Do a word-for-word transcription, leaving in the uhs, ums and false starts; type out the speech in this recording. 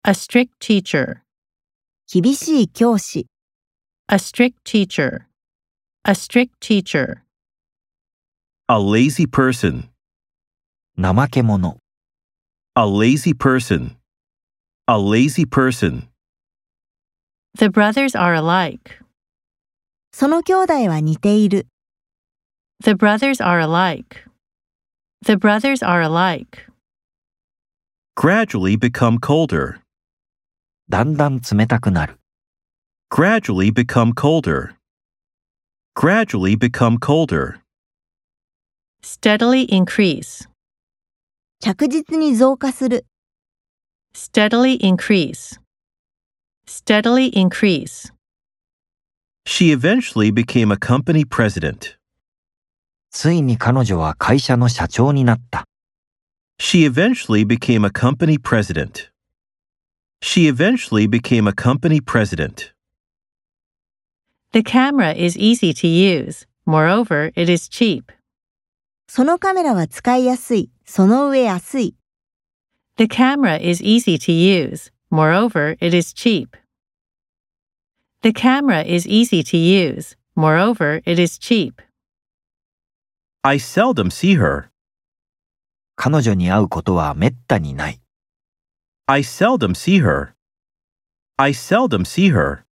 A strict teacher. 厳しい教師。 A strict teacher. A strict teacher. A lazy person. 怠け者。 A lazy person. A lazy person. The brothers are alike. その兄弟は似ている。 The brothers are alike. The brothers are alike. Gradually become colder. だんだん冷たくなる。 Gradually become colder. Gradually become colder. Steadily increase. 着実に増加する。 Steadily increase. Steadily increase. She eventually became a company president. ついに彼女は会社の社長になった。 She eventually became a company president. She eventually became a company president. The camera is easy to use. Moreover, it is cheap. そのカメラは使いやすい。その上安い。 The camera is easy to use. Moreover, it is cheap. The camera is easy to use. Moreover, it is cheap. I seldom see her. 彼女に会うことはめったにない。 I seldom see her. I seldom see her.